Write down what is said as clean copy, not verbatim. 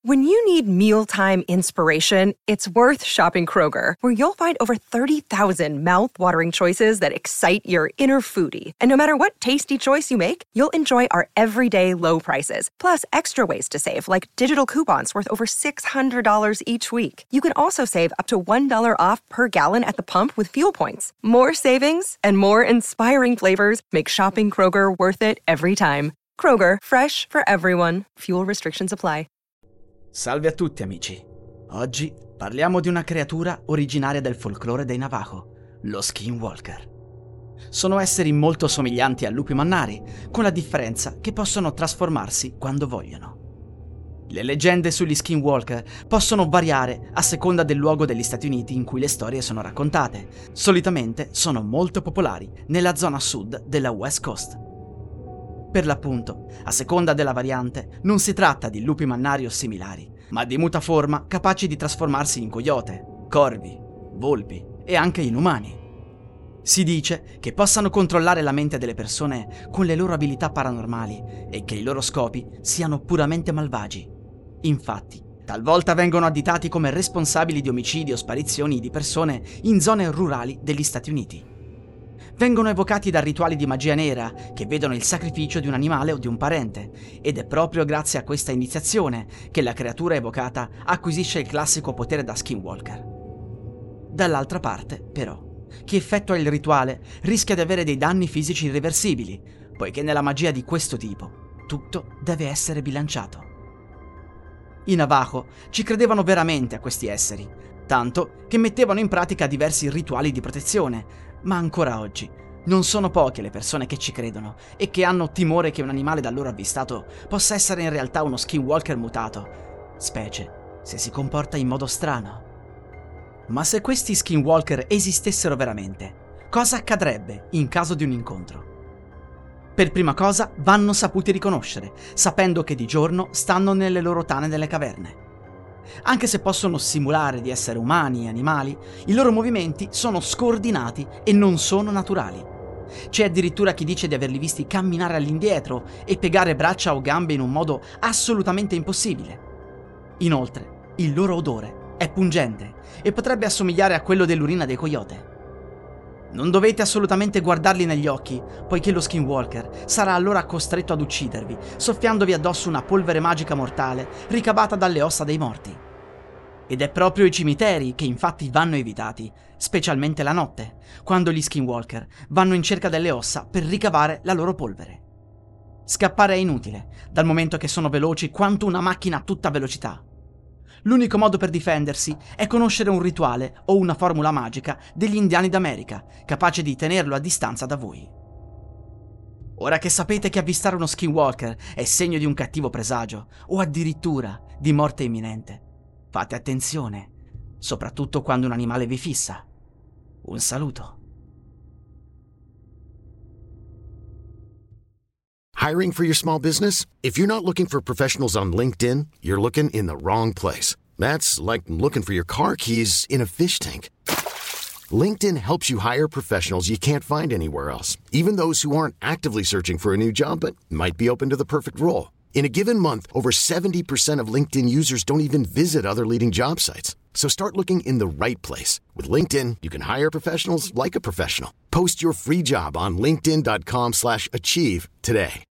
When you need mealtime inspiration, it's worth shopping Kroger, where you'll find over 30,000 mouth-watering choices that excite your inner foodie. And no matter what tasty choice you make, you'll enjoy our everyday low prices, plus extra ways to save, like digital coupons worth over $600 each week. You can also save up to $1 off per gallon at the pump with fuel points. More savings and more inspiring flavors make shopping Kroger worth it every time. Kroger, fresh for everyone. Fuel restrictions apply. Salve a tutti amici. Oggi parliamo di una creatura originaria del folklore dei Navajo, lo Skinwalker. Sono esseri molto somiglianti a lupi mannari, con la differenza che possono trasformarsi quando vogliono. Le leggende sugli Skinwalker possono variare a seconda del luogo degli Stati Uniti in cui le storie sono raccontate. Solitamente sono molto popolari nella zona sud della West Coast. Per l'appunto, a seconda della variante, non si tratta di lupi mannari o similari, ma di mutaforma capaci di trasformarsi in coyote, corvi, volpi e anche in umani. Si dice che possano controllare la mente delle persone con le loro abilità paranormali e che i loro scopi siano puramente malvagi. Infatti, talvolta vengono additati come responsabili di omicidi o sparizioni di persone in zone rurali degli Stati Uniti. Vengono evocati da rituali di magia nera che vedono il sacrificio di un animale o di un parente, ed è proprio grazie a questa iniziazione che la creatura evocata acquisisce il classico potere da Skinwalker. Dall'altra parte, però, chi effettua il rituale rischia di avere dei danni fisici irreversibili, poiché nella magia di questo tipo tutto deve essere bilanciato. I Navajo ci credevano veramente a questi esseri, tanto che mettevano in pratica diversi rituali di protezione, ma ancora oggi non sono poche le persone che ci credono e che hanno timore che un animale da loro avvistato possa essere in realtà uno Skinwalker mutato, specie se si comporta in modo strano. Ma se questi Skinwalker esistessero veramente, cosa accadrebbe in caso di un incontro? Per prima cosa vanno saputi riconoscere, sapendo che di giorno stanno nelle loro tane delle caverne. Anche se possono simulare di essere umani e animali, i loro movimenti sono scordinati e non sono naturali. C'è addirittura chi dice di averli visti camminare all'indietro e piegare braccia o gambe in un modo assolutamente impossibile. Inoltre, il loro odore è pungente e potrebbe assomigliare a quello dell'urina dei coyote. Non dovete assolutamente guardarli negli occhi, poiché lo Skinwalker sarà allora costretto ad uccidervi, soffiandovi addosso una polvere magica mortale ricavata dalle ossa dei morti. Ed è proprio i cimiteri che infatti vanno evitati, specialmente la notte, quando gli Skinwalker vanno in cerca delle ossa per ricavare la loro polvere. Scappare è inutile, dal momento che sono veloci quanto una macchina a tutta velocità. L'unico modo per difendersi è conoscere un rituale o una formula magica degli indiani d'America, capace di tenerlo a distanza da voi. Ora che sapete che avvistare uno Skinwalker è segno di un cattivo presagio, o addirittura di morte imminente, fate attenzione, soprattutto quando un animale vi fissa. Un saluto. Hiring for your small business? If you're not looking for professionals on LinkedIn, you're looking in the wrong place. That's like looking for your car keys in a fish tank. LinkedIn helps you hire professionals you can't find anywhere else, even those who aren't actively searching for a new job but might be open to the perfect role. In a given month, over 70% of LinkedIn users don't even visit other leading job sites. So start looking in the right place. With LinkedIn, you can hire professionals like a professional. Post your free job on linkedin.com/achieve today.